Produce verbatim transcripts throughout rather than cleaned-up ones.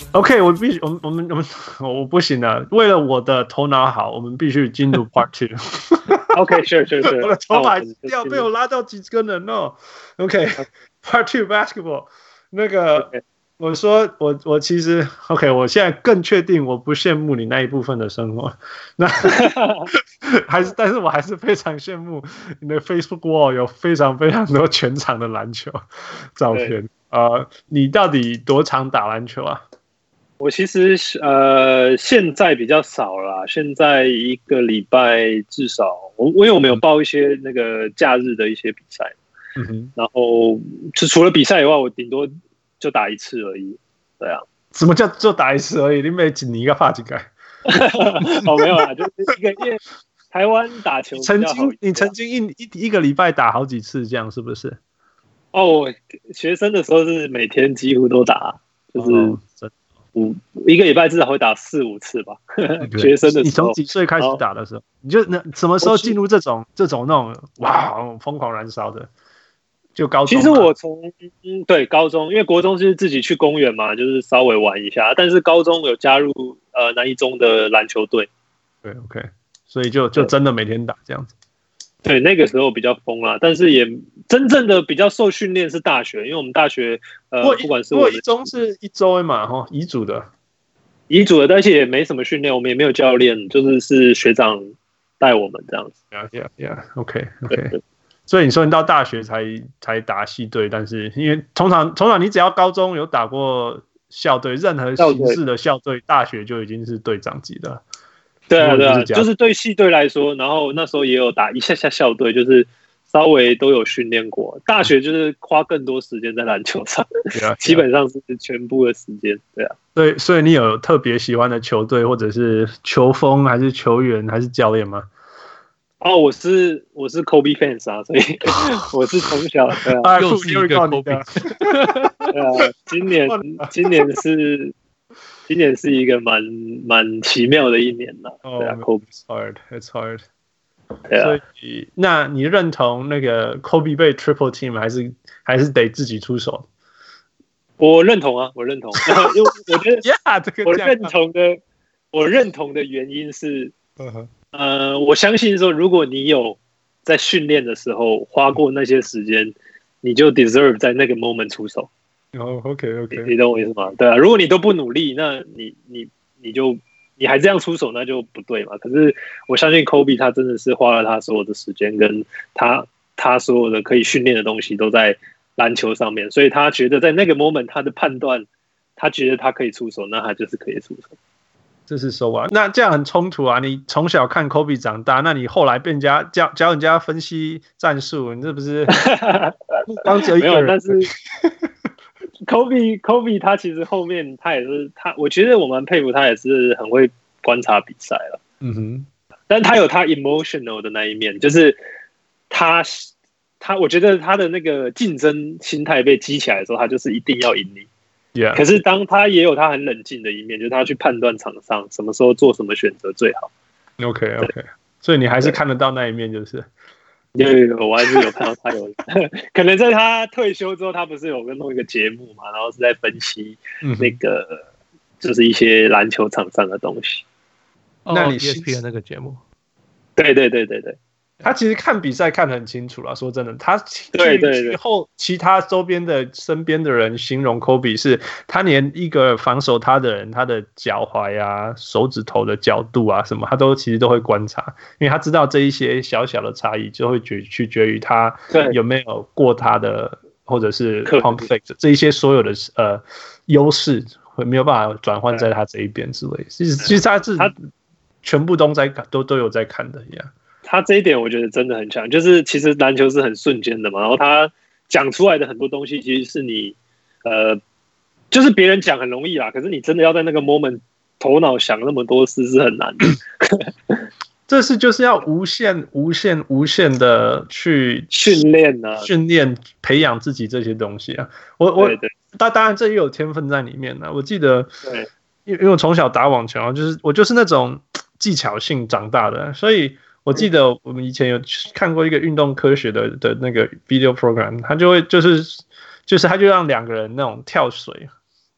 OK， 我必須，我們我們我們我不行了。為了我的頭腦好，我們必須進入 Part Two。OK，sure sure sure。我的頭髮掉，被我拉到幾個人哦。OK，Part Two basketball。那個，我說我我其實 OK， 我現在更確定我不羨慕你那一部分的生活。那還是，但是我還是非常羨慕你的 Facebook wall 有非常非常多全場的籃球照片。呃，你到底多常打籃球啊？ 我其實呃現在比較少啦，現在一個禮拜至少我因為我們有報一些那個假日的一些比賽，嗯哼，然後就除了比賽以外，我頂多就打一次而已。對啊， 什麼叫就打一次而已？你每幾年一個發幾個？ 哦，沒有啦，就是一個因為台灣打球曾經你曾經一一一個禮拜打好幾次，這樣是不是？ 哦，我學生的時候是每天幾乎都打，就是。哦五一個禮拜至少會打四五次吧。學生的時候， 你從幾歲開始打的時候，你就那什麼時候進入這種這種那種哇瘋狂燃燒的？就高中。其實我從對高中，因為國中是自己去公園嘛，就是稍微玩一下。但是高中有加入呃南一中的籃球隊。 對 ，OK， 所以就就真的每天打這樣子。 對，那個時候比較瘋啦，但是也真正的比較受訓練是大學，因為我們大學呃，不管是我們一中是一周嘛，哈，乙組的， 乙組的，但是也沒什麼訓練，我們也沒有教練，就是是學長帶我們這樣子。 Yeah, yeah, yeah. OK, OK. 所以你說你到大學才才打系隊，但是因為通常通常你只要高中有打過校隊，任何形式的校隊，大學就已經是隊長級的。 對啊，對啊，就是對系隊來說，然後那時候也有打一下下校隊，就是稍微都有訓練過。大學就是花更多時間在籃球上，基本上是全部的時間。對啊， 對，所以你有特別喜歡的球隊，或者是球風，還是球員，還是教練嗎？ 哦，我是我是 Kobe fans 啊，所以我是從小對啊， 又是一個 Kobe。 對啊，今年今年是。今年是一個蠻蠻奇妙的一年了，對啊 ，Kobe it's hard, it's hard。所以，那你認同那個 Kobe 被 triple team 還是還是得自己出手？ 我認同啊，我認同，因為我覺得 yeah, 這個我認同的，我認同的原因是，呃，我相信說，如果你有在訓練的時候花過那些時間，你就 deserve 在那個 moment 出手。 哦、oh, ，OK OK， 你, 你懂我意思嗎？對啊，如果你都不努力，那你你你就你還這樣出手，那就不對嘛。可是我相信 Kobe 他真的是花了他所有的時間，跟他他所有的可以訓練的東西都在籃球上面，所以他覺得在那個 moment 他的判斷，他覺得他可以出手，那他就是可以出手。 這是說啊，那這樣很衝突啊！你從小看 Kobe 長大，那你後來被人家教教人家分析戰術，你這不是當只有一個人？ 但是。Kobe Kobe 他其實後面他也是他，我覺得我蠻佩服他，也是很會觀察比賽了。嗯哼，但他有他 emotional 的那一面，就是他他我覺得他的那個競爭心態被激起來的時候，他就是一定要贏你。 Yeah. 可是當他也有他很冷靜的一面，就是他去判斷場上什麼時候做什麼選擇最好。 OK OK， 所以你還是看得到那一面，就是。 有有有，我還是有看到他有，可能在他退休之後，他不是有跟弄一個節目嘛，然後是在分析那個、嗯、就是一些籃球場上的東西。 那你 E S P N 那個節目？ 對對對對對， 他其實看比賽看得很清楚啦，說真的，他對對對後其他周邊的身邊的人形容 Kobe 是，他連一個防守他的人，他的腳踝啊、手指頭的角度啊什麼，他都其實都會觀察，因為他知道這一些小小的差異就會取取決於他有沒有過他的或者是 pump fake 這一些所有的呃優勢會沒有辦法轉換在他這一邊之類。其實其實他是他全部都在都都有在看的呀。 他這一點我覺得真的很強，就是其實籃球是很瞬間的嘛，然後他講出來的很多東西，其實是你呃，就是別人講很容易啦，可是你真的要在那個 moment 頭腦想那麼多事是很難的。 這是就是要無限、無限、無限的去訓練啊， 訓練培養自己這些東西啊。我我當當然這也有天分在裡面呢。我記得，因為我從小打網球，就是我就是那種技巧性長大的，所以。我記得我們以前有看過一個運動科學的的那個 video program，他就會就是就是他就讓兩個人那種跳水，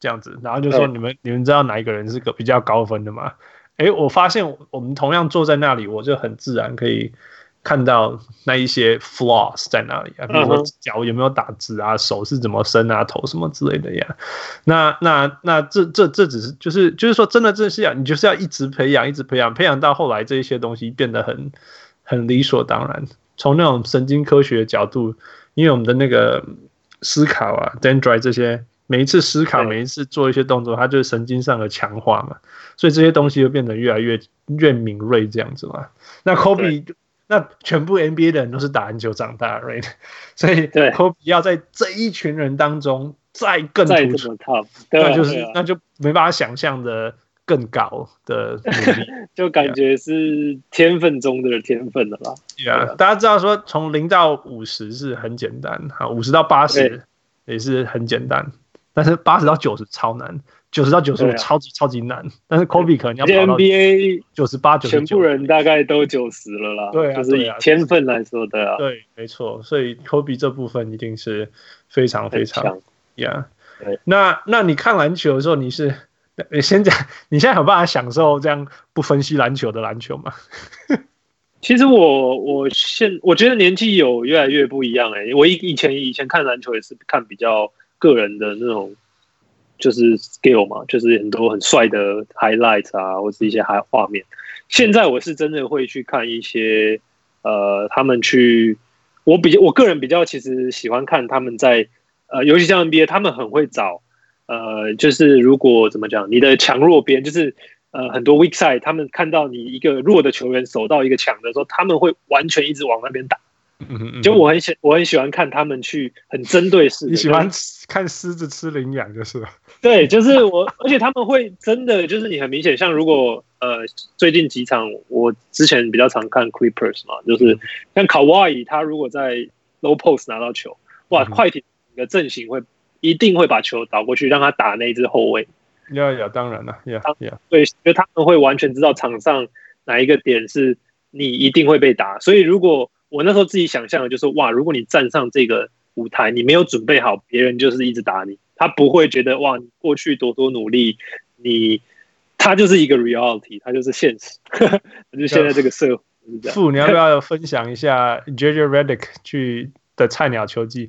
這樣子，然後就說你們你們知道哪一個人是個比較高分的嗎？哎，我發現我們同樣坐在那裡，我就很自然可以看到那一些 flaws 在哪裡啊，比如說腳有沒有打直啊，手是怎麼伸啊，頭什麼之類的呀。那那那這這這只是就是就是說真的這是要你就是要一直培養，一直培養，培養到後來這一些東西變得很很理所當然。從那種神經科學的角度，因為我們的那個思考啊 dendrite 這些。每一次思考，每一次做一些動作，它就是神經上的強化嘛，所以這些東西就變得越來越越敏銳這樣子嘛。那 Kobe， 那全部 N B A 的人都是打籃球長大 ，right？ 所以 Kobe 要在這一群人當中再更突出，那就是、啊、那就沒辦法想象的更高的努力， 就感覺是天分中的天分了吧？ 對啊，大家知道說從零到五十是很簡單，好，五十到八十也是很簡單。但是八十到九十超難，九十到九十五超級超級難。但是 Kobe 可能要跑到 N B A 九十八、九十九， 全部人大概都九十了啦。 對啊， 就是以天分來說的啊。 對，沒錯。所以 Kobe 這部分一定是非常非常，Yeah。那那你看籃球的時候，你是你先講，你現在有辦法享受這樣不分析籃球的籃球嗎？ 其實我我現我覺得年紀有越來越不一樣哎、欸。我以以前以前看籃球也是看比較。個人的那種就是 skill 嘛，就是很多很帥的 highlights 啊，或是一些畫面。現在我是真的會去看一些呃，他們去我比較我個人比較其實喜歡看他們在呃，尤其像 N B A， 他們很會找呃，就是如果怎麼講，你的強弱邊就是呃很多 weak side， 他們看到你一個弱的球員守到一個強的時候，他們會完全一直往那邊打。就我很喜我很喜歡看他們去很針對式的， 你喜歡看獅子吃羚羊就是了。 對，就是我，而且他們會真的就是你很明顯，像如果呃最近幾場我之前比較常看 Clippers 嘛，就是像卡哇伊他如果在 low post 拿到球，哇，快艇的陣型會一定會把球倒過去，讓他打那一支後衛。 要要當然了，要要對，因為他們會完全知道場上哪一個點是你一定會被打，所以如果我那時候自己想象的就是哇，如果你站上這個舞台，你沒有準備好，別人就是一直打你，他不會覺得哇，你過去多多努力，你他就是一個 reality， 他就是現實，就是現在這個社會。 傅，你要不要分享一下 J J Redick 去的菜鳥球季？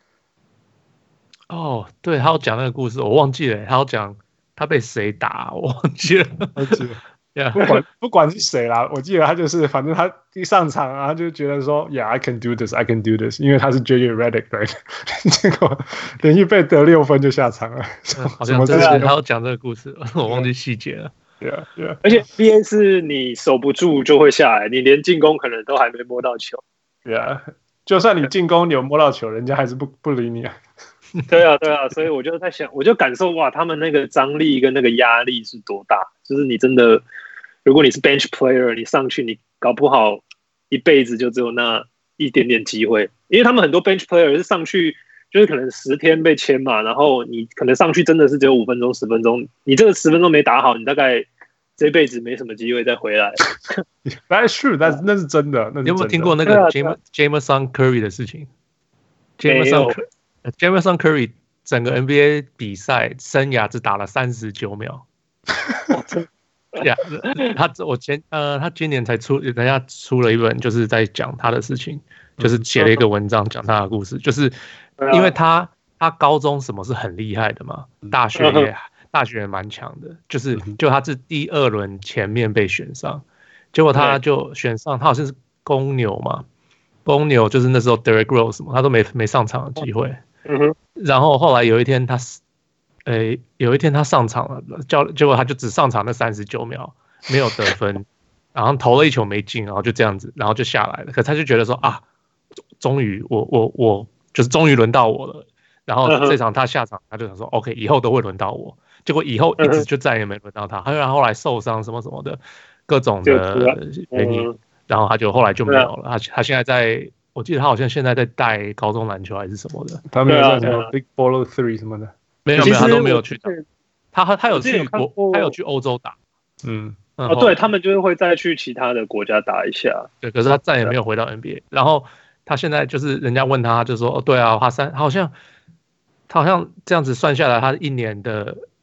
哦，對，他有講那個故事，我忘記了，他有講他被誰打，我忘記了， 忘記了。Yeah, 不管不管是誰啦，我記得他就是，反正他一上場，然後就覺得說 ，Yeah, I can do this, I can do this， 因為他是 J J Redick， right？ 結果連續被得六分就下場了。 嗯、好像真的，他要講這個故事，我忘記細節了。 對啊，對啊。 而且 N B A 是你守不住就會下來，你連進攻可能都還沒摸到球。 對啊，就算你進攻你有摸到球，人家還是不不理你啊。 對啊，對啊，所以我就在想，我就感受哇，他們那個張力跟那個壓力是多大，就是你真的。如果你是 bench player， 你上去，你搞不好一輩子就只有那一點點機會，因為他們很多 bench player 是上去就是可能十天被簽嘛，然後你可能上去真的是只有五分鐘、十分鐘，你這個十分鐘沒打好，你大概這輩子沒什麼機會再回來。 That's true， 那那是真的。你有沒有聽過那個 Jameson Curry 的事情 ？Jameson Jameson Curry 整個 N B A 比賽生涯只打了三十九秒。呀、yeah, 他我前呃，他今年才出，人家出了一本，就是在講他的事情，就是寫了一個文章講他的故事，就是因為他他高中什麼是很厲害的嘛，大學也大學也蠻強的，就是就他是第二輪前面被選上，結果他就選上，他好像是公牛嘛，公牛就是那時候 Derrick Rose 嘛，他都沒沒上場的機會，然後後來有一天他。誒，有一天他上場了，叫結果他就只上場那三十九秒，沒有得分，然後投了一球沒進，然後就這樣子，然後就下來了。可他就覺得說啊，終於我我我就是終於輪到我了。然後這場他下場，他就想說 OK， 以後都會輪到我。結果以後一直就再也沒輪到他，他然後後來受傷什麼什麼的各種的原因，然後他就後來就沒有了。他他現在在，我記得他好像現在在帶高中籃球還是什麼的， 他沒有在什麼 Big Baller Three 什麼的。 沒有沒有，他都沒有去打。他他有去國，他有去歐洲打。嗯， 哦，對他們就是會再去其他的國家打一下。 對，可是他再也沒有回到 N B A。然後他現在就是人家問他，就說：“哦，對啊，他三好像他好像這樣子算下來，他一年的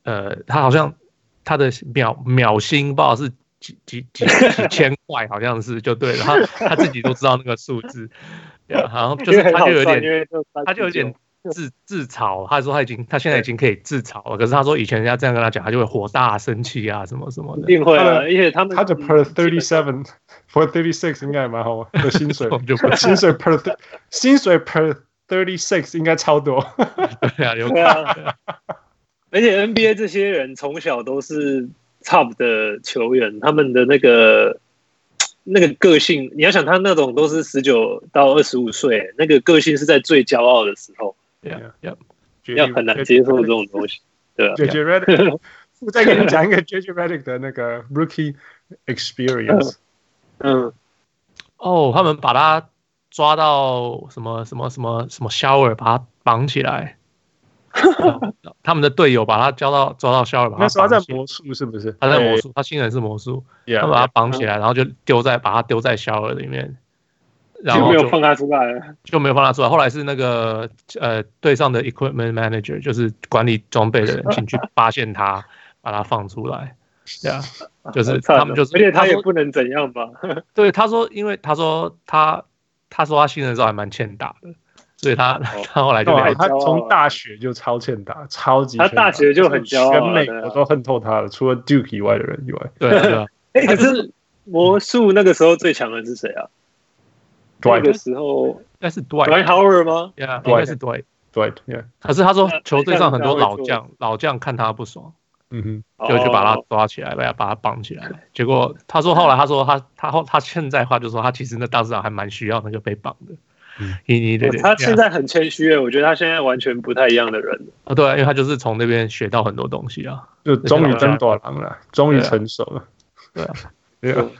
呃，他好像他的秒秒薪不知道是幾幾幾幾千塊，好像是就對了，他他自己都知道那個數字，對啊，好像就是他就有點他就有點自自嘲，他說他已經他現在已經可以自嘲了，可是他說以前人家這樣跟他講，他就會火大生氣啊什麼什麼的， 一定會啊，而且他們他的 per thirty seven for thirty six 應該也蠻好的薪水，薪水 per 薪水 per thirty six 應該超多， 對啊，有看。 而且 N B A 這些人從小都是 top 的球員，他們的那個那個個性，你要想他那種都是十九到二十五歲，那個個性是在最驕傲的時候， yeah, yeah. 要很難接受這種東西，對啊。 J J Redick， 我再給你講一個 J J Redick 的那個 rookie experience。 嗯， 哦，他們把他抓到什麼什麼什麼什麼 shower， 把他綁起來。他們的隊友把他交到抓到 shower， 把他綁起來。 那時候他在魔術是不是？ 他在魔術，他新人是魔術。 Yeah, 他把他綁起來，然後就丟在把他丟在 shower 裡面，然後就沒有放他出來， 就沒有放他出來。後來是那個呃隊上的 equipment manager， 就是管理裝備的人進去發現他，把他放出來。對啊，就是他們就是， 而且他也不能怎樣吧？ 對，他說，因為他說他他說他新人的時候還蠻欠打的。所以他、哦、他後來就他從大學就超欠打，超級欠打， 他大學就很驕傲， 全美國都恨透他了，除了 Duke 以外的人以外。 對啊，對啊。 哎、欸，可是魔術那個時候最強的是誰啊？那個時候應該是 Dwight Dwight Howard 嗎？ 對啊，應該是 Dwight Dwight。Yeah。 可是他說球隊上很多老將，老將看他不爽，嗯哼，就就把他抓起來，把他把他綁起來。結果他說後來他說他他後他現在話就說他其實那當時還蠻需要那個被綁的。嗯，對對對， 他現在很謙虛誒，我覺得他現在完全不太一樣的人啊，對啊，因為他就是從那邊學到很多東西啊， 就終於登大人了，終於成熟了， 對啊， 對啊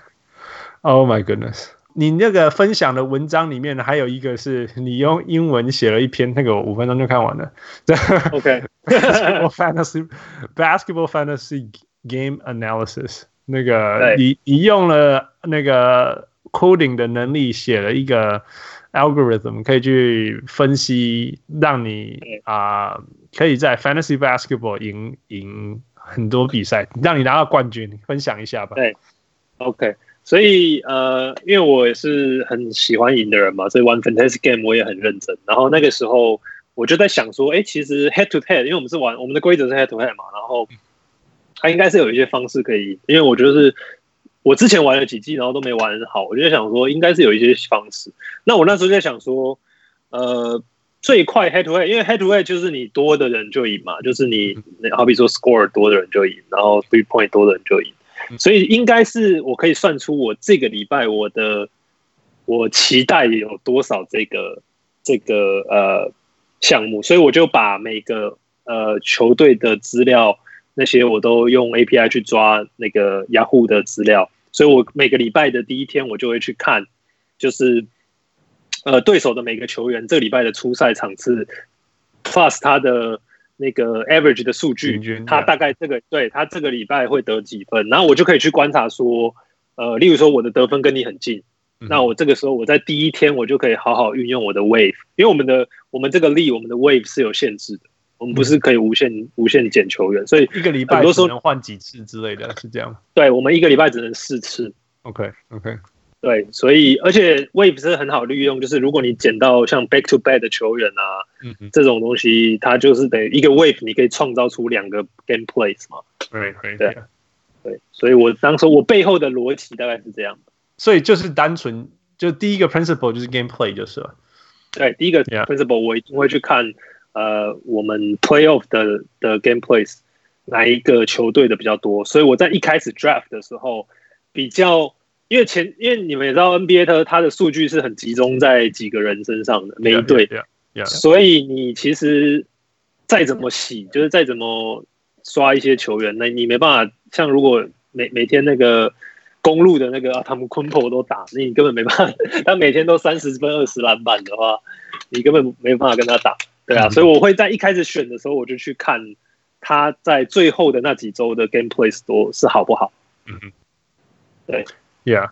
，Oh my goodness！ 你那個分享的文章裡面呢，還有一個是你用英文寫了一篇，那個我五分鐘就看完了。OK，Basketball Fantasy Basketball Fantasy Game Analysis， 那個你你用了那個 coding 的能力寫了一個。algorithm 可以去分析，讓你啊、呃、可以在 fantasy basketball 贏贏很多比賽，讓你拿到冠軍。分享一下吧。 對 ，OK， 所以呃，因為我也是很喜歡贏的人嘛，所以玩 fantasy game 我也很認真。然後那個時候我就在想說，哎，其實 head to head， 因為我們是玩我們的規則是 head to head 嘛，然後它應該是有一些方式可以，因為我覺得是。我之前玩了幾季，然後都沒玩好，我就在想說，應該是有一些方式。那我那時候在想說，呃，最快 head to head， 因為 head to head 就是你多的人就贏嘛，就是你好比說 score 多的人就贏，然後 three point 多的人就贏，所以應該是我可以算出我這個禮拜我的我期待有多少這個這個呃項目，所以我就把每個呃球隊的資料。那些我都用 A P I 去抓那個 Yahoo 的資料，所以我每個禮拜的第一天我就會去看，就是呃對手的每個球員這個禮拜的出賽場次 ，plus 他的那個 average 的數據，他大概這個對他這個禮拜會得幾分，然後我就可以去觀察說，呃，例如說我的得分跟你很近，那我這個時候我在第一天我就可以好好運用我的 wave， 因為我們的我們這個 league 我們的 wave 是有限制的。我們不是可以無限、嗯、無限減球員，所以一個禮拜只能換幾次之類的，是這樣。對， 我們一個禮拜只能四次。 OK OK。 對，所以而且 Wave 是很好利用，就是如果你撿到像 Back to Back 的球員啊，嗯、這種東西，它就是等於一個 Wave，你可以創造出兩個 Game Plays 嘛。 對對對對，所以我當時我背後的邏輯大概是這樣的。 所以就是單純就第一個 Principle 就是 Game Play 就是了。 對，第一個 Principle 我一定會去看。呃，我們 playoff 的的 game plays 哪一個球隊的比較多？所以我在一開始 draft 的時候，比較因為前因為你們也知道 N B A 它它的數據是很集中在幾個人身上的每一隊， yeah, yeah, yeah, yeah. 所以你其實再怎麼洗，就是再怎麼刷一些球員，那你沒辦法像如果每每天那個公路的那個他們昆珀都打，你根本沒辦法，他每天都三十分二十籃板的話，你根本沒辦法跟他打。對啊，所以我會在一開始選的時候，我就去看他在最後的那幾周的 game plays 多是好不好。嗯，對 ，Yeah，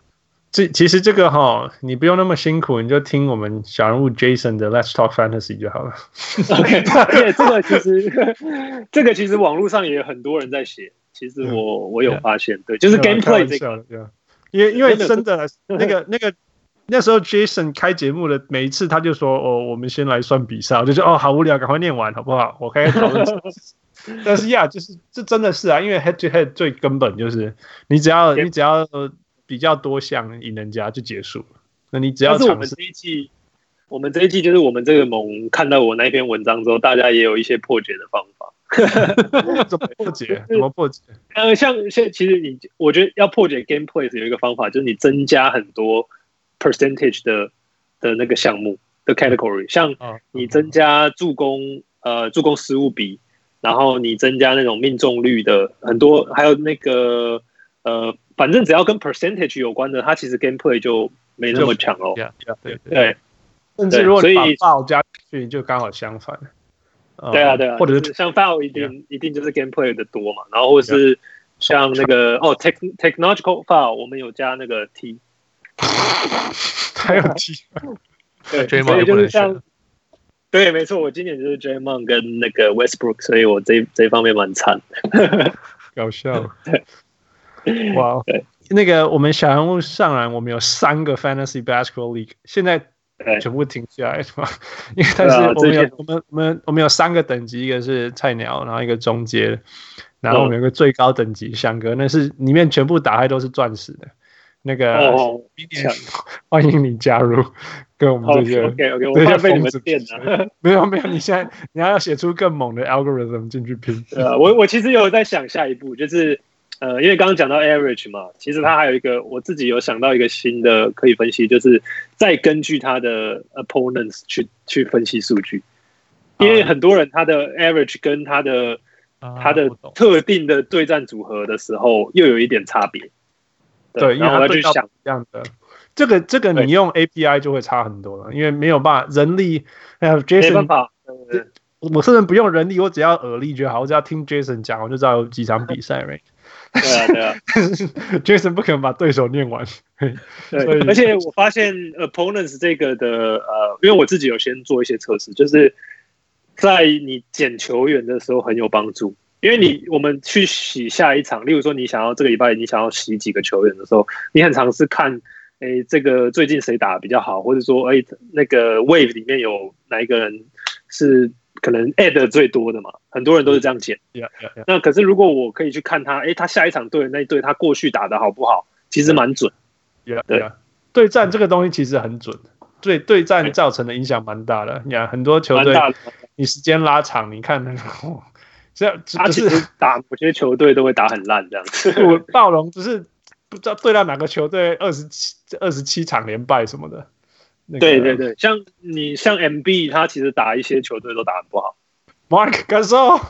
這其實這個哈，你不用那麼辛苦，你就聽我們小人物 Jason 的 Let's Talk Fantasy 就好了。 OK， 而且這個其實這個其實網絡上也有很多人在寫。其實我、嗯、我有發現，對，就是 gameplay 這個， 因為因為真的那個那個那時候 Jason 開節目的每一次他就說哦，我們先來算比賽，我就說哦好無聊，趕快念完好不好？我開始討論。但是呀，就是這真的是啊，因為 head to head 最根本就是你只要你只要比較多項贏人家就結束了。那你只要嘗試。但是我們這一季，我們這一季就是我們這個盟看到我那篇文章之後，大家也有一些破解的方法。怎麼破解？怎麼破解？呃，像像其實你，我覺得要破解 gameplay 有一個方法，就是你增加很多 percentage 的的那個項目的 category，像你增加助攻，呃，助攻失誤比，然後你增加那種命中率的很多，還有那個呃，反正只要跟 percentage 有關的，它其實 gameplay 就沒那麼強哦。對 yeah, yeah, 對，對甚至如果你把 foul 加進去，就剛好相反。 對啊，對啊， 或者是像 foul 一定、yeah. 一定就是 gameplay 的多嘛，然後或是像那個、yeah. 哦 tech technological foul 我們有加那個 T， 還有 T， 對，所以就是像，對，沒錯，我今年就是 Draymond 跟那個 Westbrook， 所以我這這一方面蠻慘， 搞笑，對，哇、wow ，那個我們小人物上籃，我們有三個 Fantasy Basketball League， 現在。全部停下來嘛，因為但是我們有、啊、我們我們我們有三個等級，一個是菜鳥，然後一個中階，然後我們有個最高等級翔哥，那是裡面全部打開都是鑽石的。那個明年、哦、歡迎你加入，跟我們這些 OK OK， 我怕被你們電了。 沒有沒有，你現在你還要寫出更猛的 algorithm 進去拼。 對啊，我我其實有在想下一步，就是呃，因為剛剛講到 average 嘛，其實它還有一個，我自己有想到一個新的可以分析，就是再根據他的 opponents 去去分析數據，因為很多人他的 average 跟他的、啊、他的特定的對戰組合的時候又有一點差別。對， 對，然後我去想這樣的，這個這個你用 A P I 就會差很多了，因為沒有辦法人力，還有 Jason 沒辦法。 我甚至不用人力，我只要耳力就好，我只要聽 Jason 講，我就知道有幾場比賽。right？ 對啊，對啊。 Jason 不可能把對手念完。對， 而且我發現 opponents 這個的呃，因為我自己有先做一些測試，就是在你撿球員的時候很有幫助。因為你我們去洗下一場，例如說你想要這個禮拜你想要洗幾個球員的時候，你很常是看，哎，這個最近誰打得比較好，或者說，哎，那個 wave 裡面有哪一個人是可能 add 最多的嘛？很多人都是這樣撿。 Yeah, yeah, yeah. 那可是如果我可以去看他，哎，他下一場對的那一隊他過去打得好不好，其實蠻準。 Yeah, yeah. 對，對戰這個東西其實很準，對對戰造成的影響蠻大的。你看很多球隊，你時間拉長，你看那個。這他其實打某些球隊都會打很爛這樣子。 我暴龍只是不知道對到哪個球隊二十七二十七場連敗什麼的。那個、 對對對，像你像 M B 他其實打一些球隊都打很不好。 Mark Gasol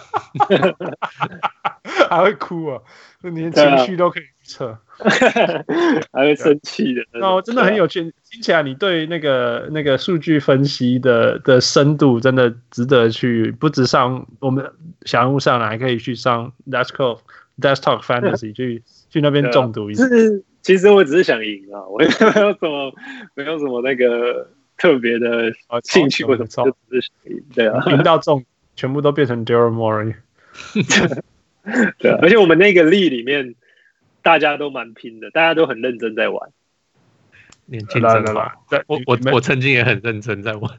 還會哭啊，連情緒都可以預測， 還會生氣的。 那真的很有趣，聽起來你對那個那個數據分析的的深度真的值得去，不止上我們小人物上來，還可以去上 Let's Talk Let's Talk Fantasy 去去那邊中毒一下。 其實我只是想贏啊，我沒有什麼沒有什麼那個特別的興趣或者就只是想贏。對啊， 贏到中。全部都變成 Daryl Morey， 對、啊，而且我們那個 league 裡面大家都蠻拼的，大家都很認真在玩。 年輕真好，我我我曾經也很認真在玩。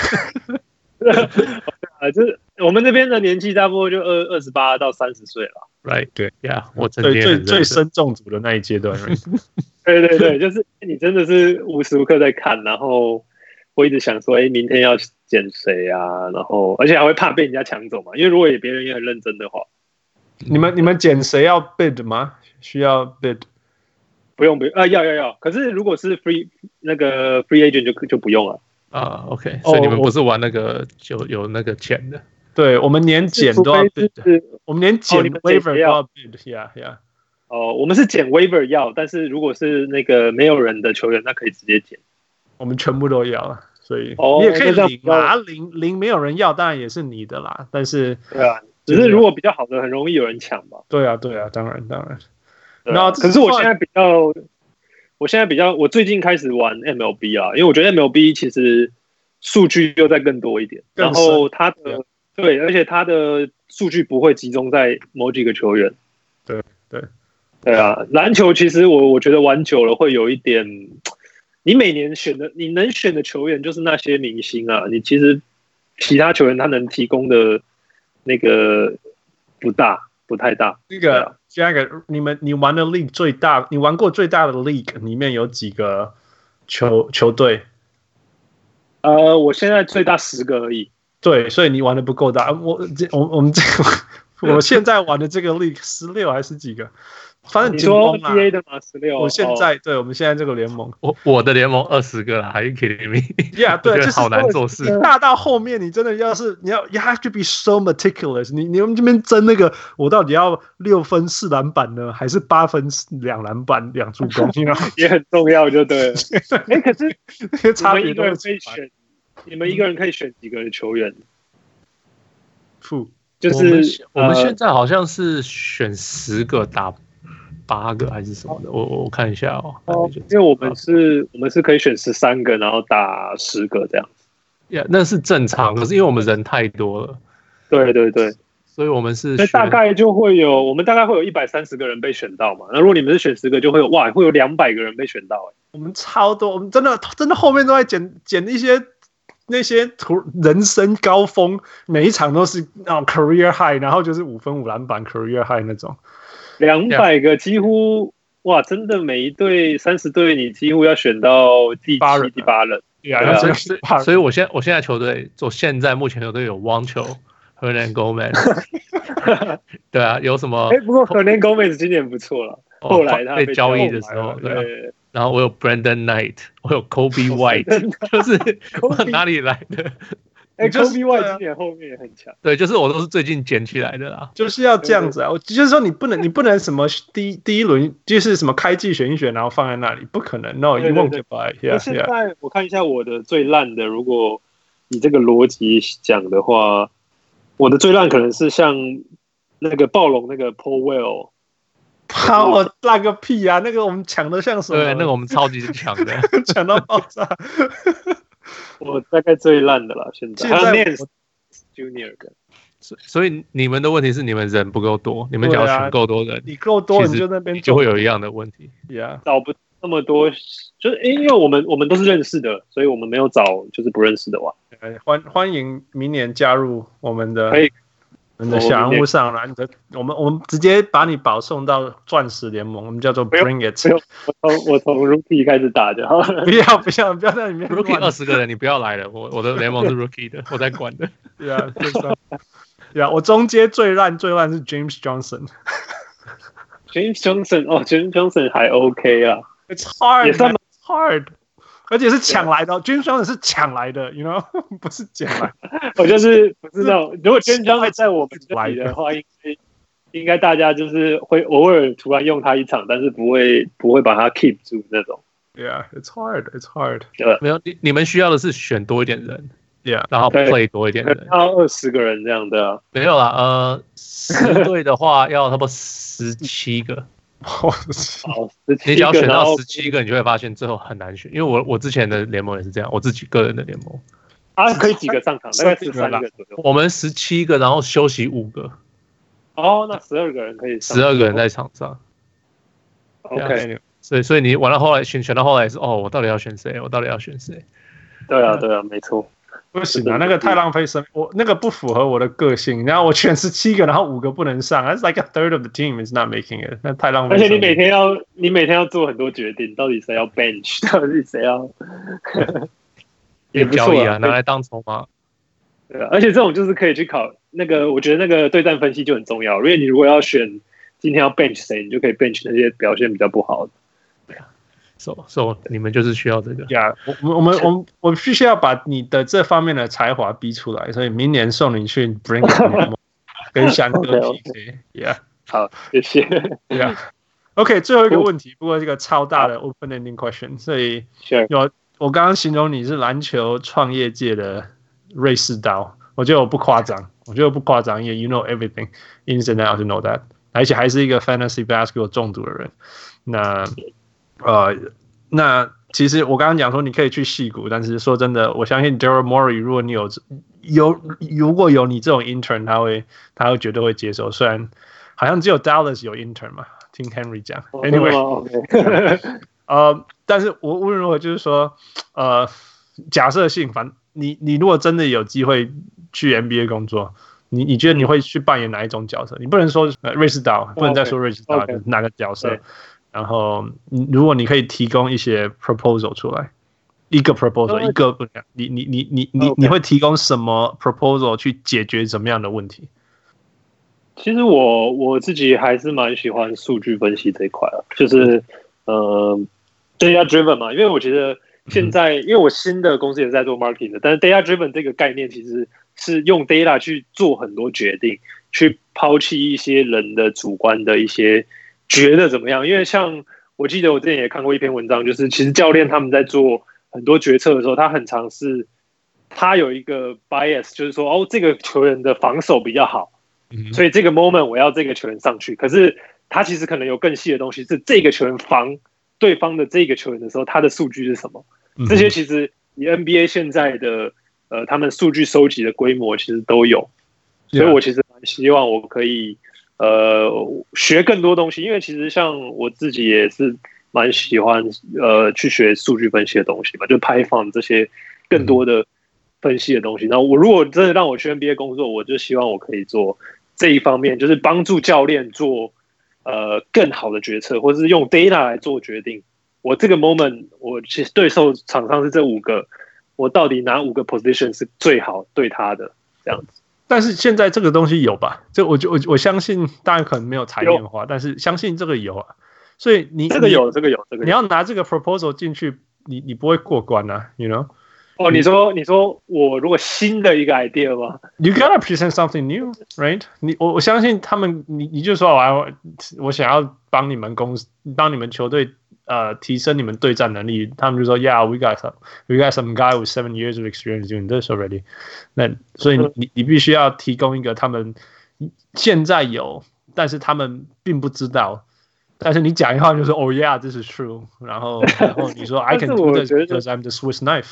啊，就是我們這邊的年紀大部分就二二十八到三十歲了。 Right， 對呀， yeah, 我曾經最最深中組的那一階段。 對對對，就是你真的是無時無刻在看，然後我一直想說，哎，明天要撿誰啊？然後，而且還會怕被人家搶走嘛，因為如果別人也很認真的話， 你們你們撿誰要 bid 嗎？需要 bid？ 不用不用啊，要要要。可是如果是 free 那個 free agent 就就不用了啊。OK， 所以你們不是玩那個有、oh, 有那個錢的？ 對，我們連撿都要 bid，我們連撿 waiver 都要 bid，yeah yeah。 哦，我們是撿 waiver 要，但是如果是那個沒有人的球員，那可以直接撿。我們全部都要了。所以你也可以領啊，領領沒有人要，當然也是你的啦。但是對啊，只是如果比較好的，很容易有人搶吧。 對啊，對啊，當然當然。 然後、啊，可是我現在比較， 我現在比較，我最近開始玩 M L B 啊，因為我覺得 M L B 其實數據又再更多一點，然後它的對，而且它的數據不會集中在某幾個球員。 對對對啊，籃球其實我我覺得玩久了會有一點，你每年選的你能選的球員就是那些明星啊，你其實其他球員他能提供的那個不大。不太大。 那個，下一個，你們你玩的 league 最大，你玩過最大的 league 裡面有幾個球球隊？ 呃，我現在最大十個而已。 對，所以你玩的不夠大。我這我我們這個，我現在玩的這個 league 十六還是幾個？反正你說 N B A 的嗎？十六。 我現在、哦、對，我們現在這個聯盟， 我我的聯盟二十個啦，還是 kidding me？ Yeah， 對，就是好難做事。 大到後面，你真的要是你要 ，you have to be so meticulous 你。你你們這邊爭那個，我到底要六分四籃板呢，還是八分兩籃板兩助攻？ 也很重要，就對了。哎、欸，可是那些差別都可以選，你們一個人可以選幾個球員？ 負就是我們，我們現在好像是選十個打。八個還是什麼的，我我看一下哦。 哦，因為我們是，我們是可以選十三個，然後打十個這樣子。 Yeah， 那是正常，可是因為我們人太多了。 對對對， 所以我們是。 所以大概就會有，我們大概會有一百三十個人被選到嘛。那如果你們是選十個，就會有哇，會有兩百個人被選到哎。 我們超多，我們真的真的後面都在撿撿一些那些圖人生高峰，每一場都是那種 career high， 然後就是五分五籃板 career high 那種。 兩百個幾乎哇，真的每一隊三十隊，你幾乎要選到第七、第八人。 對啊，所以所以我現在我現在球隊，我現在目前球隊有網球 Hernan Gomez， 對啊，有什麼？ 哎，不過 Hernan Gomez 今年不錯了，後來他被交易的時候，對、啊。然後我有 Brandon Knight， 我有 Kobe White， 就是哪裡來的？ 哎、欸、，Kobe White 今年後面也很強。 對，就是我都是最近撿起來的啦。 就是要這樣子啊！我就是說，你不能，你不能什麼第一第一輪就是什麼開季選一選，然後放在那裡，不可能。No，you won't get by。那現在我看一下我的最爛的，如果以這個邏輯講的話，我的最爛可能是像那個暴龍那個 Paul Well。 把我爛個屁啊！那個我們搶的像什麼？ 對，那個我們超級強的， 搶到爆炸。 我大概最爛的了，現在。還有 Nance Junior 的。 所以你們的問題是你們人不夠多，你們只要選夠多人， 啊、你夠多你就那邊就會有一樣的問題。 Yeah， 找不那麼多，就是因為我們我們都是認識的，所以我們沒有找就是不認識的玩。 歡歡迎明年加入我們的。 可以。 我們的小人物上來，你的我們我們直接把你保送到鑽石聯盟，我們叫做 Bring It。 我從我從 Rookie 開始打就好了。 不要不要不要在裡面 Rookie 二十個人，你不要來了，我我的聯盟是 Rookie 的，我在管的。 對啊，對啊，我中間最爛最爛是 James Johnson。 James Johnson 哦 ，James Johnson 還 OK 啊 ，It's hard， it's hard。而且是搶來的、哦、，James Johnson 是搶來的 ，you know， 不是撿來的。 我就是不知道，如果 James Johnson 在我們這裡的話，應該應該大家就是會偶爾突然用他一場，但是不會不會把他 keep 住那種。 Yeah, it's hard, it's hard。 對， 沒有你你們需要的是選多一點人 ，Yeah， 然後 play 多一點人， 要二十個人這樣的、啊。 沒有啦，呃，十隊的話要差不多十七個。 好， 你只要選到十七個，你就會發現最後很難選。因為我我之前的聯盟也是這樣，我自己個人的聯盟。 啊，可以幾個上場？大概十三個左右。 我們十七個，然後休息五個。 哦，那十二個人可以上。 十二個人在場上。 OK。 所以所以你玩到後來選選到後來是哦，我到底要選誰？我到底要選誰？ 對啊對啊，沒錯。 不行啊，那個太浪費生，我那個不符合我的個性。然後我選十七個，然後五個不能上 ，That's like a third of the team is not making it。那太浪費。 而且你每天要，你每天要做很多決定，到底誰要 bench， 到底誰要， 也不交易啊，拿來當籌碼。 對啊，而且這種就是可以去考那個，我覺得那個對戰分析就很重要。因為你如果要選今天要 bench 誰，你就可以 bench 那些表現比較不好的。 So, so 你們就是需要這個。 Yeah， 我我們我們我必須要把你的這方面的才華逼出來，所以明年送你去 Bring It 跟翔哥 P K。Yeah， 好，謝謝。 Yeah，OK， 最後一個問題，不過這個超大的 open-ending question， 所以有我剛剛形容你是籃球創業界的瑞士刀，我覺得我不誇張，我覺得我不誇張，因為 you know everything ins and outs to know that， 而且還是一個 fantasy basketball 中毒的人。那呃， 那其實我剛剛講說你可以去矽谷，但是說真的，我相信 Daryl Morey 如果你有有如果有你這種 intern， 他會他會絕對會接受。雖然好像只有 Dallas 有 intern 嘛，聽 Henry 講。Anyway，、oh, okay. 呃，但是我無論如何就是說，呃，假設性，反你你如果真的有機會去 N B A 工作。你你覺得你會去扮演哪一種角色？你不能說瑞士刀，不能再說瑞士刀，就是哪個角色？ Okay. 然後，如果你可以提供一些 proposal 出來，一個 proposal，、okay. 一個不，你你你你你你會提供什麼 proposal 去解決什麼樣的問題？ 其實我我自己還是蠻喜歡數據分析這一塊啊，就是呃 data driven 嘛，因為我覺得現在、嗯、因為我新的公司也是在做 marketing 的，但是 data driven 這個概念其實是用 data 去做很多決定，去拋棄一些人的主觀的一些覺得怎麼樣。因為像我記得我之前也看過一篇文章，就是其實教練他們在做很多決策的時候，他很常是他有一個 bias， 就是說哦，這個球員的防守比較好，所以這個 moment 我要這個球員上去。可是他其實可能有更細的東西，是這個球員防對方的這個球員的時候，他的數據是什麼？這些其實以 N B A 現在的呃，他們數據收集的規模其實都有，所以我其實蠻希望我可以呃學更多東西，因為其實像我自己也是蠻喜歡呃去學數據分析的東西嘛，就 Python 這些更多的分析的東西。然後我如果真的讓我去 N B A 工作，我就希望我可以做這一方面，就是幫助教練做呃更好的決策，或者是用 data 來做決定。我這個 moment 我其實對手場上是這五個。我到底哪五個 position 是最好對他的這樣子？ 但是現在這個東西有吧？這我我我相信，當然可能沒有台面化，但是相信這個有啊。所以你這個有，這個有，這個有。 你要拿這個 proposal 進去，你你不會過關啊 ，you know？ 哦，你說你說我如果新的一個 idea 嗎 ？You gotta present something new, right？ 你我我相信他們，你你就說我要我想要幫你們公司，幫你們球隊。呃，提升你們對戰能力，他們就說 ，Yeah, we got some, we got some guy with seven years of experience doing this already。那所以你你必須要提供一個他們現在有，但是他們並不知道。但是你講一話就說 ，Oh yeah, this is true。然後然後你說 I can do this because I'm the Swiss knife。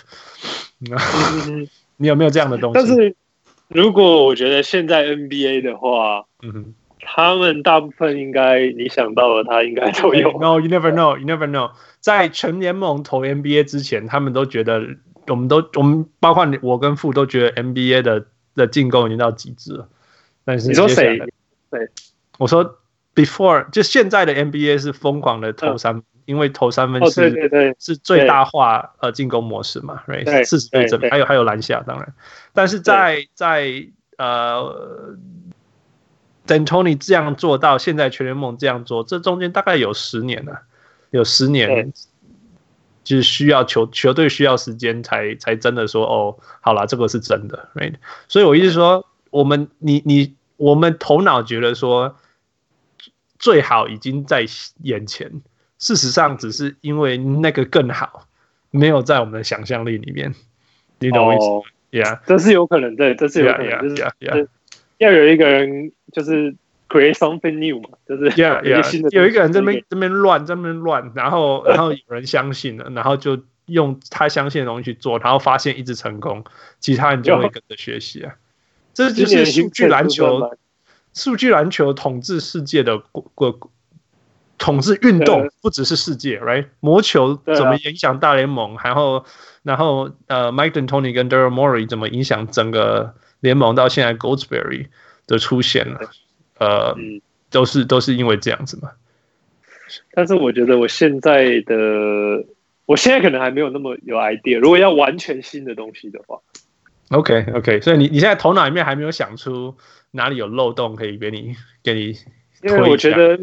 你有沒有這樣的東西？ 但是如果我覺得現在 N B A 的話，嗯哼。他們大部分應該你想到的，他應該都有。 No, you never know, you never know。在全聯盟投 N B A 之前，他們都覺得，我們都我們包括我跟傅都覺得 N B A 的的進攻已經到極致了。但是你說誰？對， 我說 before 就現在的 N B A 是瘋狂的投三分，嗯、因為投三分是、 哦、對對對是最大化呃進攻模式嘛 ，right？ 四十倍整，還有還有籃下當然，但是在在呃。D'Antoni 這樣做到現在全聯盟這樣做，這中間大概有十年了、啊，有十年，就是需要球球隊需要時間才才真的說哦，好啦，這個是真的 ，right？ 所以我意思說，我們你你我們頭腦覺得說最好已經在眼前，事實上只是因為那個更好沒有在我們的想象力裡面，你懂我意思嗎？ Yeah， 這是有可能，對，這是有可能， yeah, 就是 yeah, yeah. 要有一個人就是 create something new 嘛，就是有一個新的，有一個人這邊這邊亂，這邊亂，然後然後有人相信了，然後就用他相信的東西去做，然後發現一直成功，其他人就會跟着學習啊。這就是數據籃球，數據籃球統治世界的過統治運動，不只是世界 ，right？ 魔球怎麼影響大聯盟，然後然後呃 ，Mike D'Antoni 跟 Daryl Morey 怎麼影響整個聯盟到現在 Goldsberry 的出現了，呃，嗯、都是都是因為這樣子嘛。 但是我覺得我現在的，我現在可能還沒有那麼有 idea。如果要完全新的東西的話 ，OK OK，所以你你現在頭腦裡面還沒有想出哪裡有漏洞可以給你給你推一下。因為我覺得，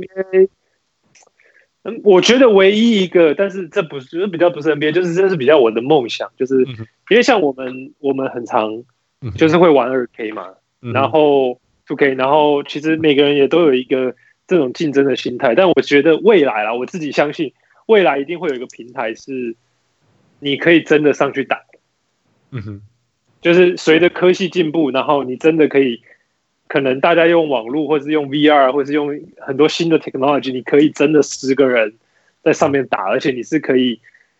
嗯，我覺得唯一一個，但是這不是比較不是 N B A， 就是這是比較我的夢想，就是因為像我們我們很常。就是會玩 二 K 嘛，嗯、然後 二 K， 然後其實每個人也都有一個這種競爭的心態，但我覺得未來啦，我自己相信未來一定會有一個平台是你可以真的上去打，嗯哼，就是隨着科技進步，然後你真的可以，可能大家用網絡或是用 V R 或是用很多新的 technology， 你可以真的十個人在上面打，而且你是可以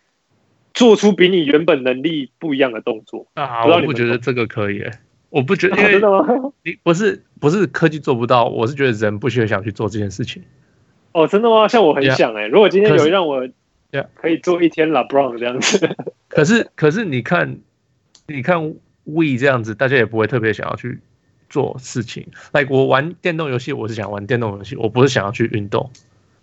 做出比你原本能力不一樣的動作啊！我不覺得這個可以、欸，我不覺得，因為真的嗎？ 你不是不是科技做不到，我是覺得人不需要想去做這件事情。 哦，真的嗎？像我很想哎、欸， yeah, 如果今天有讓我可以做一天 LeBron 這樣子， 可是可是你看你看 We 這樣子，大家也不會特別想要去做事情。like 我玩電動遊戲，我是想玩電動遊戲，我不是想要去運動。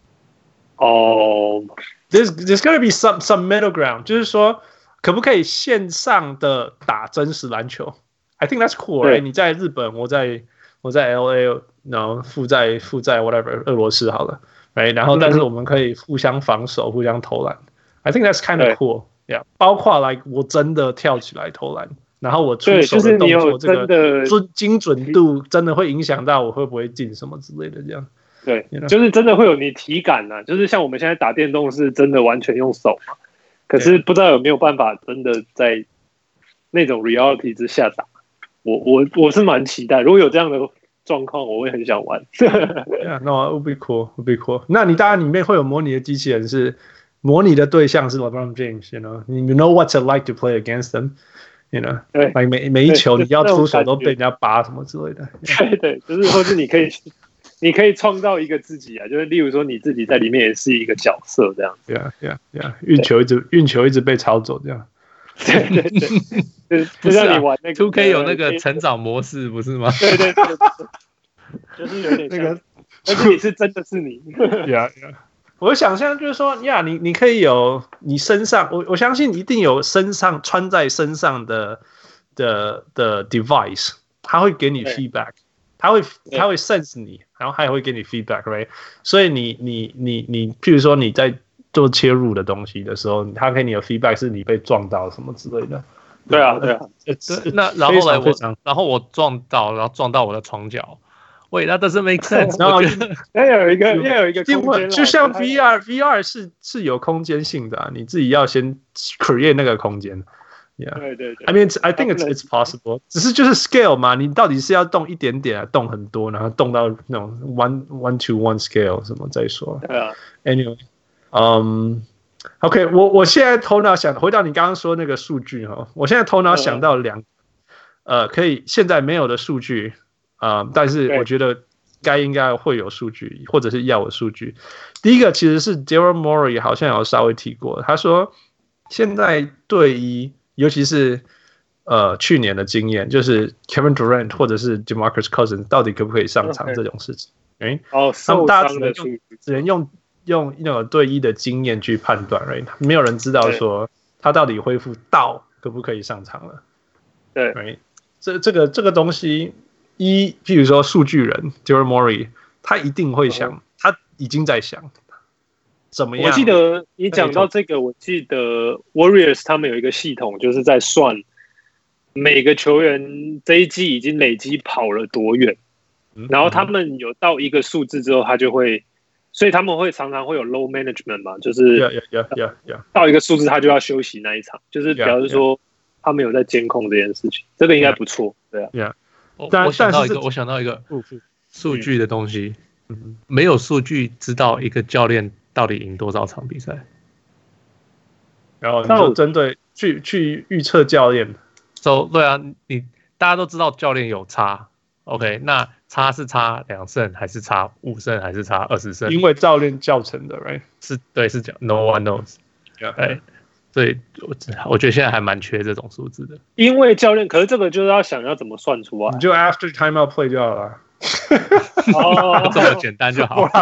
哦、 oh, ，there's there's gotta be some some middle ground， 就是說可不可以線上的打真實籃球 ？I think that's cool，right？ 你在日本，我在我在 L A， 然後附在附在 whatever 俄羅斯好了。Right? 然後，但是我們可以互相防守，互相投籃。I think that's kind of cool. Yeah， 包括 like 我真的跳起來投籃，然後我出手的動作，這個準精準度真的會影響到我會不會進什麼之類的這樣。 對， you know? 就是真的會有你體感啊，就是像我們現在打電動是真的完全用手嘛，可是不知道有沒有辦法真的在那種 reality 之下打。我我我是蠻期待，如果有這樣的狀況，我會很想玩。 yeah, no, it would be cool, it would be cool. 那你當然裡面會有模擬的機器人，是模擬的對象是 LeBron James，you know, you know what it's like to play against them，you know， like 每每一球你要出手都被人家拔什麼之類的。 對對，就是或是你可以你可以創造一個自己啊，就是例如說你自己在裡面也是一個角色這樣子。 Yeah, yeah, yeah， 運球一直運球一直被抄走這樣。 對對對，就是就像你玩那個 two K 有那個成長模式不是嗎？ 對對对，就是有點那個，但是你是真的是你。 Yeah, yeah。我想象就是說，呀，你你可以有你身上，我我相信一定有身上穿在身上的的的 device， 它會給你 feedback， 它會它會 sense 你，然後它也會給你 feedback，right？ 所以你你你你，譬如說你在做切入的東西的時候，它給你的 feedback 是你被撞到什麼之類的。 對啊，對啊。 那然後來我，然後我撞到，然後撞到我的床角。Wait, that doesn't make sense。 然後要有一個要有一個空間， 就像 V R，V R 是是有空間性的、啊，你自己要先 create 那個空間。Yeah， 對對對。 I mean, I think it's it's possible。只是就是 scale 嘛，你到底是要動一點點，啊，動很多，然後動到那種 one one to one scale 什麼再說。 對啊。 Anyway， 嗯、um, ，OK， 我我現在頭腦想回到你剛剛說那個數據哈，我現在頭腦想到兩，呃，可以現在沒有的數據。啊、呃，但是我覺得該應該會有數據，或者是要有數據。第一個其實是 Daryl Morey 好像有稍微提過，他說現在隊醫，尤其是呃去年的經驗，就是 Kevin Durant 或者是 DeMarcus Cousins 到底可不可以上場這種事情，哎，哦，他們大家只能用只能用用那種隊醫的經驗去判斷 ，right？ 沒有人知道說他到底恢復到可不可以上場了， 對， right？ 這這個這個東西。一，譬如說數據人 Daryl Morey， 他一定會想，他已經在想怎麼樣。 我記得你講到這個，我記得 Warriors 他們有一個系統，就是在算每個球員這一季已經累積跑了多遠，然後他們有到一個數字之後，他就會，所以他們會常常會有 low management 嘛，就是到一個數字他就要休息那一場，就是表示說他們有在監控這件事情，這個應該不錯，對啊。 Yeah. 我, 我想到一個，我想到一個數據的東西，嗯、沒有數據知道一個教練到底贏多少場比賽。 然後你就針對去去預測教練， so, 對啊，你大家都知道教練有差 ，OK， 那差是差兩勝還是差五勝還是差二十勝？ 因為教練教成的 ，right？ 是，對，是講 No one knows，yeah. 對。所以我我覺得現在還蠻缺這種數字的， 因為教練，可是這個就是要想要怎麼算出來， 你就 after timeout play 就好了， 哦，這麼簡單就好了。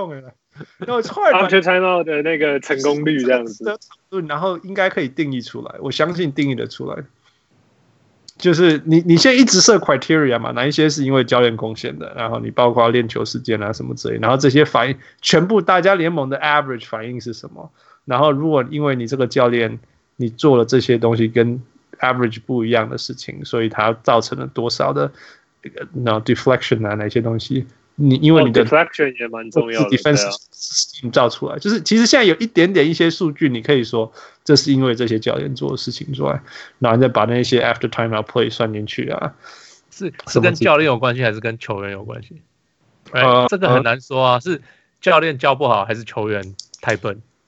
after timeout 的那個成功率這樣子， 然後應該可以定義出來，我相信定義得出來。就是你你現在一直設 criteria 嘛，哪一些是因為教練貢獻的，然後你包括練球時間啊什麼之類，然後這些反應全部大家聯盟的 average 反應是什麼？然後，如果因為你這個教練，你做了這些東西跟 average 不一樣的事情，所以它造成了多少的那 deflection 啊，哪些東西？你因為你的 deflection 也蠻重要的 defense system 造出來，就是其實現在有一點點一些數據，你可以說這是因為這些教練做的事情之外，然後你再把那些 after timeout play 算進去啊， 是是跟教練有關係還是跟球員有關係？呃，這個很難說啊，是教練教不好還是球員太笨？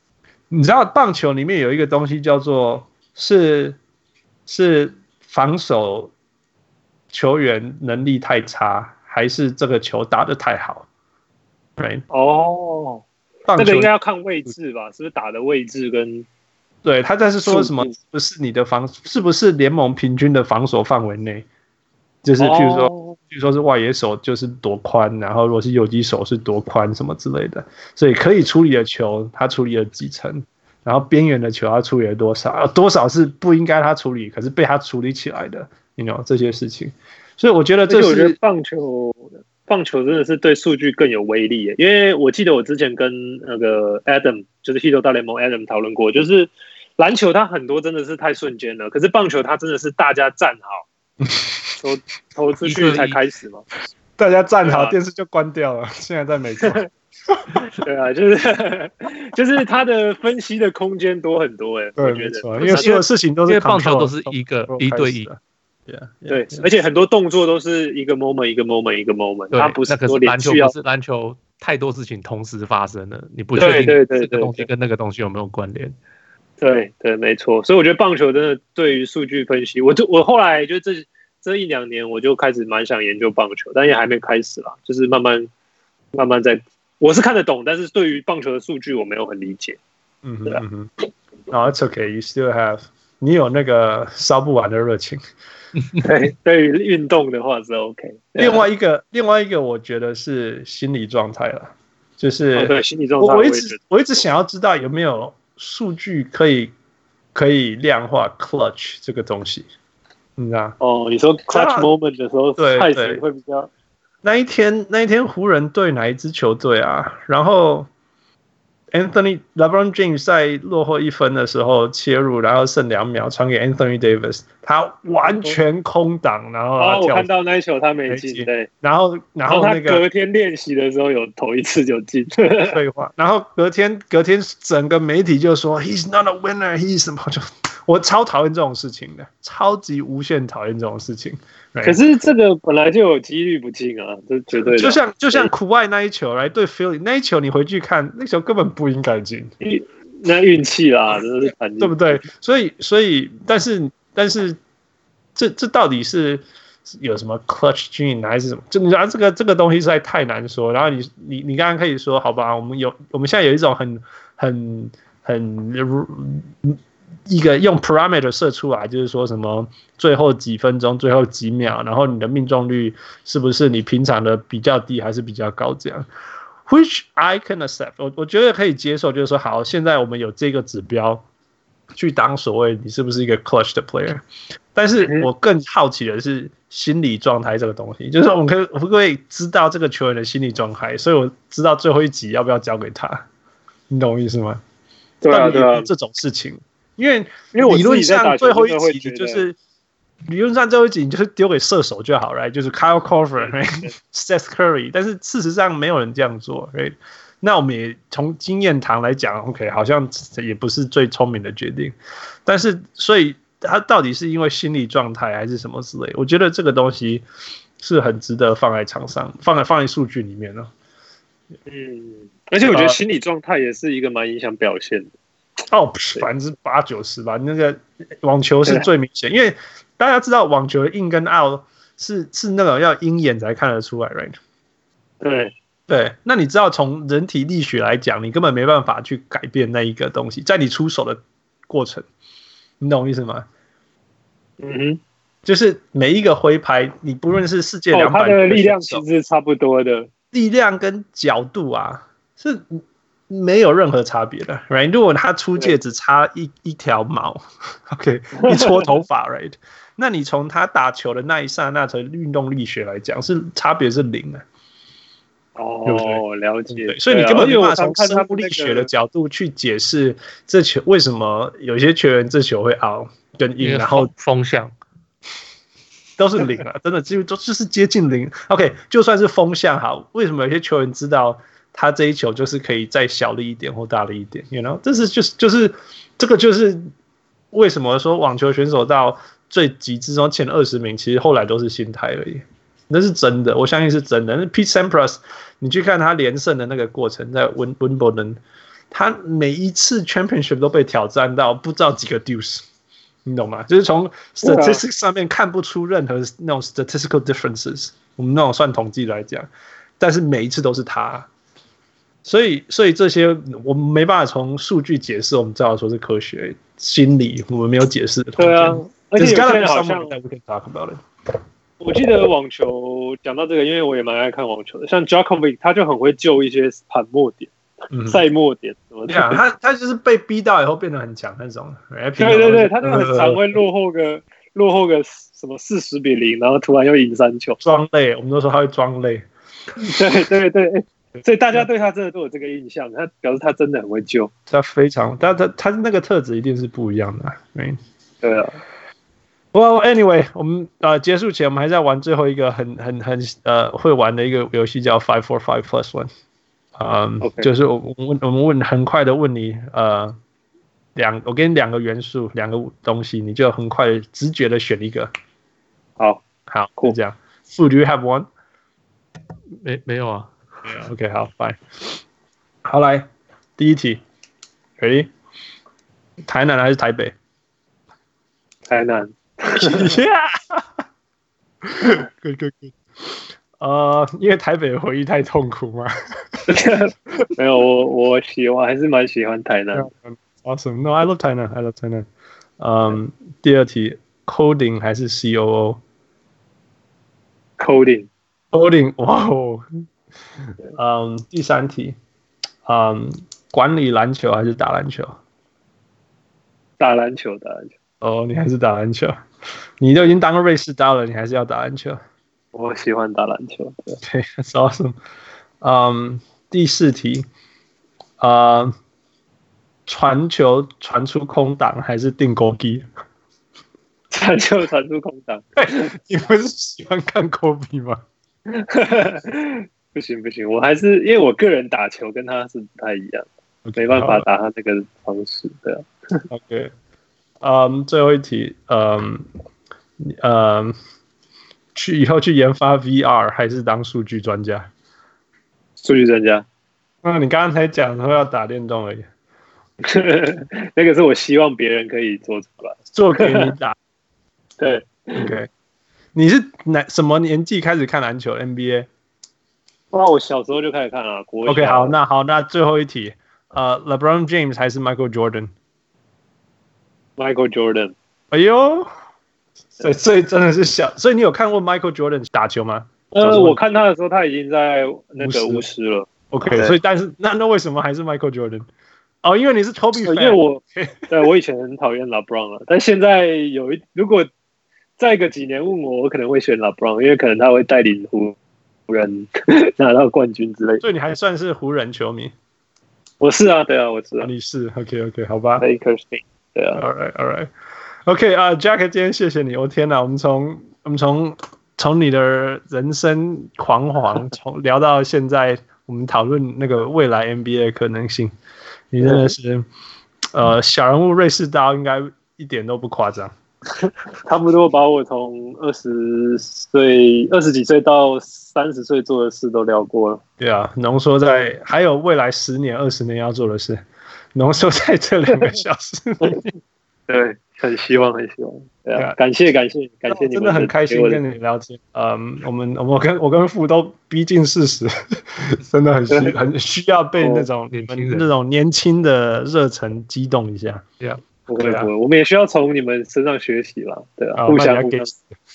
你知道棒球裡面有一個東西叫做是是防守球員能力太差，還是這個球打得太好 ？Right？ 哦， 棒球這個應該要看位置吧？是不是打的位置跟對他在是說什麼？不是你的防，是不是聯盟平均的防守範圍內？就是譬如說，哦、譬如說是外野手就是多寬，然後如果是游擊手是多寬什麼之類的，所以可以處理的球他處理了幾成，然後邊緣的球他處理了多少，多少是不應該他處理，可是被他處理起來的，你 you know 這些事情。所以我覺得這是， 我覺得棒球棒球真的是對數據更有威力耶，因為我記得我之前跟那個 Adam 就是 Hito 大聯盟 Adam 討論過，就是籃球它很多真的是太瞬間了，可是棒球它真的是大家站好。投投出去才開始嘛， 大家站好，電視就關掉了。現在在美國， 對啊，就是就是他的分析的空間多很多哎，我覺得， 因為所有事情都是因為棒球都是一個一對一， 對，而且很多動作都是一個 moment 一個 moment 一個 moment， 它不是說籃球不是籃球太多事情同時發生了，你不確定這個東西跟那個東西有沒有關聯。 對對，沒錯，所以我覺得棒球真的對於數據分析，我就我後來就這這一兩年我就開始蠻想研究棒球，但也還沒開始啦，就是慢慢慢慢在，我是看得懂，但是對於棒球的數據我沒有很理解。 嗯哼，嗯哼，哦、oh, ，It's okay, you still have， 你有那個燒不完的熱情。 對，對於運動的話是 OK。 另外一個，另外一個我覺得是心理狀態了，就是、 哦、對心理狀態， 我一直我一直想要知道有沒有數據可以可以量化 clutch 這個東西，你知道？ 哦，你說 clutch moment 的時候， 對開始會比較。 那一天，那一天湖人對哪一支球隊啊？然後 Anthony LeBron James 在落後一分的時候切入，然後剩兩秒傳給 Anthony Davis， 他完全空檔，然後他哦，我看到那一球他沒進，對， 然後然後那個他隔天練習的時候有投一次就進， 廢話，然後隔天隔天整個媒體就說 He's not a winner，He's 什麼就。我超討厭這種事情的，超級無限討厭這種事情。 可是這個本來就有幾率不進啊，這絕對的。 就像就像苦外那一球來對 Philly 那一球，你回去看那球根本不應該進， 那運氣啦，真的是慘， 對不對？所以所以，但是但是這這到底是有什麼 clutch gene 還是什麼？就你知道這個這個東西實在太難說。然後你你你剛剛可以說好吧，我們有我們現在有一種很很很。一個用 parameter 設出來，就是說什麼最後幾分鐘、最後幾秒，然後你的命中率是不是你平常的比較低還是比較高？這樣 ，which I can accept， 我我覺得可以接受，就是說好，現在我們有這個指標去當所謂你是不是一個 clutch 的 player。但是我更好奇的是心理狀態這個東西，就是我們可以可不可以知道這個球員的心理狀態？所以我知道最後一集要不要交給他，你懂我意思嗎？ 對啊，對啊， 這種事情。因為理論上最後一集就是理論上最後一集你就是丟給射手就好了， right? 就是 Kyle Korver、Seth Curry， 但是事實上沒有人這樣做。Right? 那我們也從經驗談來講 ，OK， 好像也不是最聰明的決定。但是所以他到底是因為心理狀態還是什麼之類？我覺得這個東西是很值得放在場上，放在放在數據裡面的。 嗯，而且我覺得心理狀態也是一個蠻影響表現的。 哦，百分之八九十吧。那個網球是最明顯，因為大家知道網球的 in 跟 out 是是那種要鷹眼才看得出來 ，right？ 對對，那你知道從人體力學來講，你根本沒辦法去改變那一個東西，在你出手的過程，你懂我意思嗎？ 嗯哼， 就是每一個揮拍，你不論是世界兩百、哦， 它的力量其實是差不多的， 力量跟角度啊是。沒有任何差別的 ，right？ 如果他出界只差一一條毛 ，OK， 一撮頭髮 ，right？ 那你從他打球的那一剎那，從運動力學來講，是差別是零的。 哦， 對對了解。 所以你根本沒辦法從生物力學的角度去解釋這球為什麼有些球員這球會 out 跟 in， 然後風向都是零了，真的幾乎都就是接近零。OK， 就算是風向好，為什麼有些球員知道？他這一球就是可以再小力一點或大力一點 ，you know， 這是就是就是這個就是為什麼說網球選手到最極致中前二十名，其實後來都是心態而已，那是真的，我相信是真的。那 Pete Sampras， 你去看他連勝的那個過程，在溫溫布頓， 他每一次 championship 都被挑戰到不知道幾個 deuce， 你懂嗎？就是從 statistics 上面看不出任何那種 statistical differences， 我們那種算統計來講，但是每一次都是他。所以，所以這些我們沒辦法從數據解釋，我們知道說是科學心理，我們沒有解釋的。 對啊，而且有些人好像 we can talk about it。 我記得網球講到這個，因為我也蠻愛看網球的，像 Djokovic 他就很會救一些盤末點、賽、嗯、末點什麼的。Yeah, 他他就是被逼到以後變得很強那種。對對對，他就很常會落後個、呃、落後個什麼四十比零，然後突然又贏三球。 裝淚，我們都說他會裝淚。 對對對。所以大家對他真的都有這個印象，他表示他真的很會救， 他非常，他他他那個特質一定是不一樣的、啊，對， 對啊。 Well, anyway， 我們呃結束前，我們還在玩最後一個很很很呃會玩的一個遊戲，叫 Five Four Five Plus One， 嗯， okay. 就是我們問我們問很快的問你呃兩，我給你兩個元素，兩個東西，你就很快直覺的選一個。 好， 好，就這樣。Food, do you have one？ 沒沒有啊。 Yeah, OK， 好 ，Fine。好，來第一題 ，Ready？ 台南還是台北？ 台南。 Yeah 。Good, good, good。呃，因為台北的回憶太痛苦嗎？ 沒有，我我喜歡，還是蠻喜歡台南。 Awesome. No, I love 台南 I love 台南。嗯，第二題 ，Coding 還是 C O O？Coding。Coding， 哇哦。嗯，第三題，嗯，管理籃球還是打籃球？ 打籃球，打籃球。 哦，你還是打籃球？你都已經當個瑞士刀了，你還是要打籃球？ 我喜歡打籃球。對 Okay, that's awesome。嗯，第四題，呃，傳球傳出空檔還是定勾機？ 傳球傳出空檔。 你不是喜歡看科比嗎？ 不行不行，我還是因為我個人打球跟他是不太一樣， okay, 沒辦法打他那個方式，對啊。 OK， 嗯、um, ，最後一題，嗯，嗯，去以後去研發 V R 還是當數據專家？ 數據專家。 那你剛剛才講說要打電動而已。 那個是我希望別人可以做出來， 做給你打。 對 ，OK。你是哪什麼年紀開始看籃球 N B A？ 哇，我小時候就開始看了。 OK， 好，那好，那最後一題，呃 ，LeBron James 還是 Michael Jordan？Michael Jordan。 哎呦，所以所以真的是小，所以你有看過 Michael Jordan 打球嗎？ 呃，我看他的時候，他已經在那個巫師了。 OK， 所以但是那那為什麼還是 Michael Jordan？ 哦，因為你是 Kobe fan。 因為我對我以前很討厭 LeBron 了，但現在有一如果再個幾年問我，我可能會選 LeBron， 因為可能他會帶領湖湖人拿到冠軍之類的。 所以你還算是湖人球迷？ 我是啊，对啊，我是啊。 你是 OK OK 好吧。 Lakers 對啊。 All right All right OK 啊、uh, ，Jack 今天謝謝你。我、oh, 天哪，我們從我們從從你的人生狂歡從聊到現在，我們討論那個未來 N B A 的可能性。你真的是呃小人物瑞士刀，應該一點都不誇張。 差不多把我從二十歲、二十幾歲到三十歲做的事都聊過了。 對啊，濃縮在還有未來十年、二十年要做的事，濃縮在這兩個小時裡面。 對，很希望，很希望。對啊，感謝，感謝，感謝你們， 真的很開心跟你聊天。嗯，我們我跟我跟父都逼近四十，真的很需很需要被那種你們那種年輕的熱忱激動一下。對啊。 不會不會，我們也需要從你們身上學習啦，對啊，互相互相。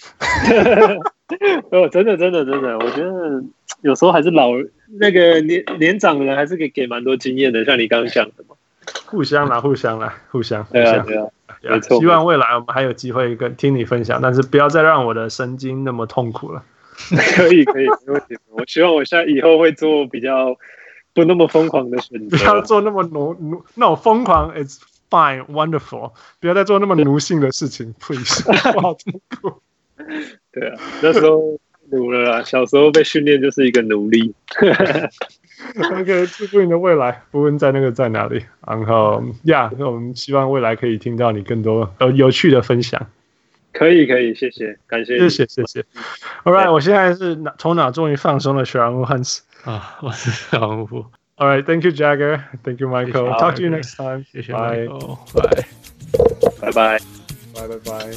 哦，真的真的真的，我覺得有時候還是老那個年年長的人還是給給蠻多經驗的，像你剛剛講的嘛。 互相啦，互相啦，互相。 對啊對啊，沒錯。 希望未來我們還有機會跟聽你分享，但是不要再讓我的神經那麼痛苦了。 可以可以，沒問題。我希望我現在以後會做比較不那麼瘋狂的選擇， 不要做那麼奴奴那種瘋狂。It's Fine, wonderful， 不要再做那麼奴性的事情 ，please。好痛苦。 對啊，那時候奴了啦，小時候被訓練就是一個奴隸。 OK， 祝福你的未來，不論在那個在哪裡。然後呀， yeah, 那我們希望未來可以聽到你更多有有趣的分享。 可以可以，謝謝，感謝， 謝謝謝謝。All right， 我現在是頭腦終於放鬆了，小人物漢斯啊，我是小人物。 All right, thank you, Jagger. Thank you, Michael. Talk to you next time. Bye. Bye. Bye bye. Bye bye bye.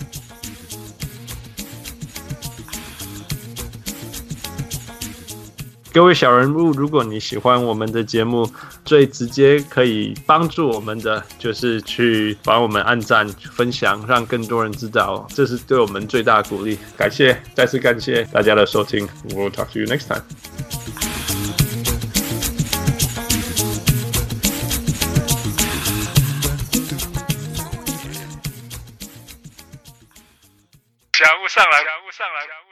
各位小人物，如果你喜歡我們的節目，最直接可以幫助我們的就是去幫我們按讚、分享，讓更多人知道，這是對我們最大的鼓勵。感謝，再次感謝大家的收聽。We'll talk to you next time. 小人物上來，小人物上來。